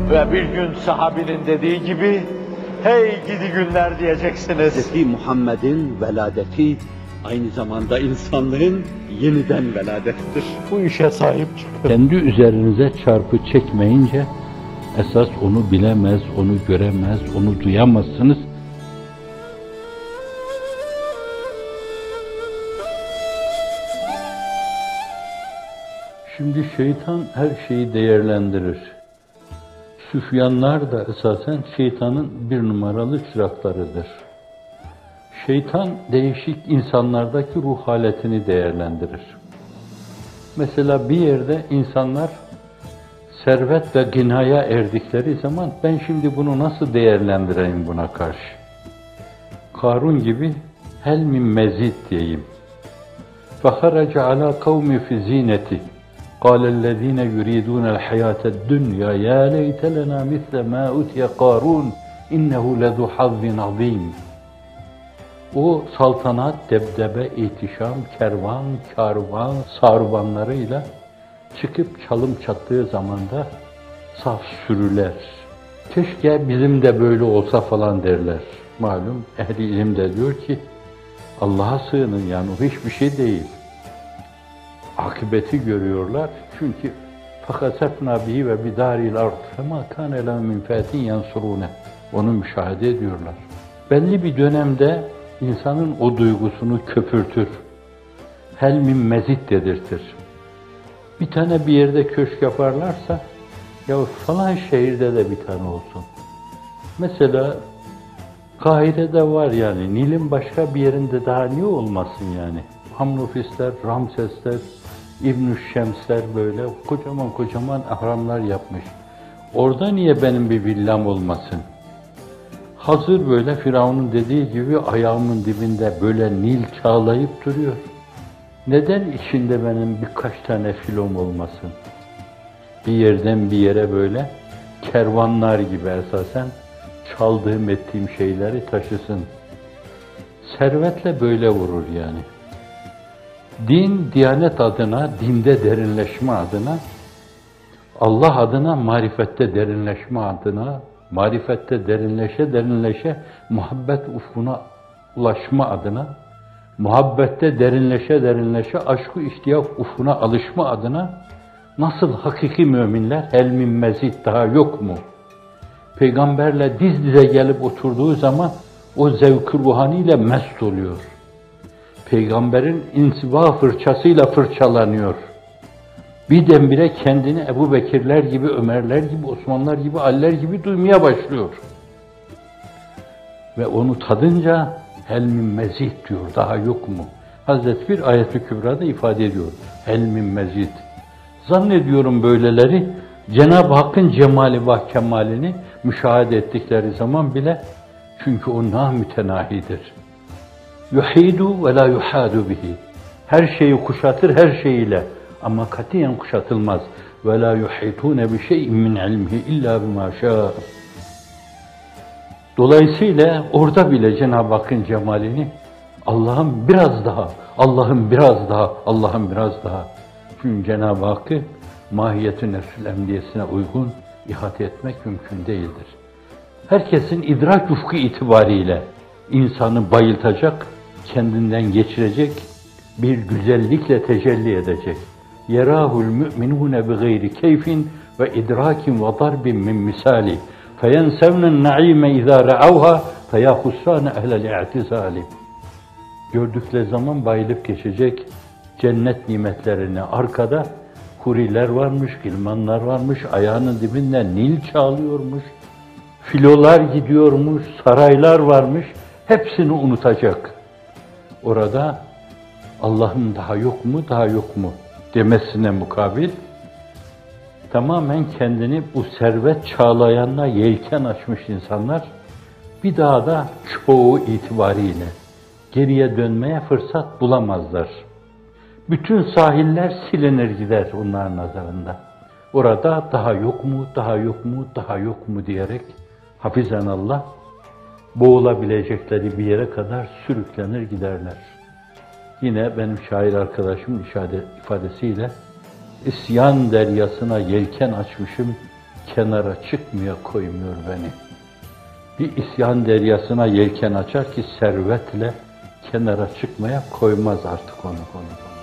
Ve bir gün sahabinin dediği gibi, hey gidi günler diyeceksiniz. Hz. Muhammed'in veladeti aynı zamanda insanlığın yeniden veladettir. Bu işe sahip çıkın. Kendi üzerinize çarpı çekmeyince, esas onu bilemez, onu göremez, onu duyamazsınız. Şimdi şeytan her şeyi değerlendirir. Süfyanlar da esasen şeytanın bir numaralı çıraklarıdır. Şeytan değişik insanlardaki ruh haletini değerlendirir. Mesela bir yerde insanlar servet ve ginaya erdikleri zaman ben şimdi bunu nasıl değerlendireyim buna karşı? Karun gibi hel min mezid diyeyim. فَخَرَجَ عَلَى قَوْمِ فِي زِينَتِ قَالَ الَّذ۪ينَ يُرِيدُونَ الْحَيَاةَ الدُّنْيَا يَا لَيْتَ لَنَا مِثْلَ مَا أُتِيَ قَارُونَ اِنَّهُ لَذُو حَظٍّ عَظ۪يمٍ. O saltanat, debdebe, ihtişam, kervan, karvan, sarvanlarıyla çıkıp çalım çattığı zamanda saf sürüler. Keşke bizim de böyle olsa falan derler. Malum ehli ilim de diyor ki Allah'a sığının, yani o hiçbir şey değil. Akıbeti görüyorlar çünkü فَخَسَفْنَا بِهِ وَبِدَارِ الْاَرْضِ فَمَا كَانَ لَهُ مِنْ فَاتٍ يَنْصُرُونَ. Onu müşahede ediyorlar. Belli bir dönemde insanın o duygusunu köpürtür. Hel min mezid dedirtir. Bir tane bir yerde köşk yaparlarsa, ya falan şehirde de bir tane olsun. Mesela Kahire'de var yani, Nil'in başka bir yerinde daha niye olmasın yani? Hamnufisler, Ramsesler, İbn-i Şemsler böyle kocaman kocaman ahramlar yapmış. Orada niye benim bir villam olmasın? Hazır böyle Firavun'un dediği gibi ayağımın dibinde böyle Nil çağlayıp duruyor. Neden içinde benim birkaç tane filom olmasın? Bir yerden bir yere böyle kervanlar gibi esasen çaldığım ettiğim şeyleri taşısın. Servetle böyle vurur yani. Din, diyanet adına, dinde derinleşme adına, Allah adına, marifette derinleşme adına, marifette derinleşe muhabbet ufkuna ulaşma adına, muhabbette derinleşe aşk-ı iştiyak ufkuna alışma adına nasıl hakiki müminler hel min mezid daha yok mu? Peygamberle diz dize gelip oturduğu zaman o zevk-ı ruhaniyle mest oluyor. Peygamberin insiba fırçasıyla fırçalanıyor. Birdenbire kendini Ebu Bekirler gibi, Ömerler gibi, Osmanlar gibi, Aliler gibi duymaya başlıyor. Ve onu tadınca hel min mezid diyor, daha yok mu? Hazreti bir ayet-i kübrada ifade ediyor. Hel min mezid. Zannediyorum böyleleri Cenab-ı Hakk'ın cemali ve kemalini müşahede ettikleri zaman bile, çünkü o namütenahidir. Yuhidu ve la yuhadu bihi. Her şeyi kuşatır her şeyiyle ama katiyen kuşatılmaz. Ve la yuhitune bi şey'in min ilmihi illa bima şaa. Dolayısıyla orada bile Cenab-ı Hakk'ın cemalini Allah'ım biraz daha, Allah'ım biraz daha, Allah'ım biraz daha. Çünkü Cenab-ı Hakk'ı mahiyet-i nefs-ül emniyesine uygun ihate etmek mümkün değildir. Herkesin idrak ufku itibariyle insanı bayıltacak, kendinden geçirecek, bir güzellikle tecelli edecek. Yerahul mü'minûne bi gayri keyfin ve idrakin ve darbin min misali. Feyensevnen naime izâ re'avha feyahussâne ehlel i'tizâli. Gördükleri zaman bayılıp geçecek cennet nimetlerini, arkada huriler varmış, gilmanlar varmış, ayağının dibinden Nil çağlıyormuş, filolar gidiyormuş, saraylar varmış, hepsini unutacak. Orada Allah'ım daha yok mu, daha yok mu demesine mukabil, tamamen kendini bu servet çağlayanla yelken açmış insanlar, bir daha da çoğu itibariyle geriye dönmeye fırsat bulamazlar. Bütün sahiller silinir gider onların nazarında. Orada daha yok mu, daha yok mu, daha yok mu diyerek hafizanallah boğulabilecekleri bir yere kadar sürüklenir giderler. Yine benim şair arkadaşımın ifadesiyle isyan deryasına yelken açmışım, kenara çıkmaya koymuyor beni. Bir isyan deryasına yelken açar ki servetle kenara çıkmaya koymaz artık onu.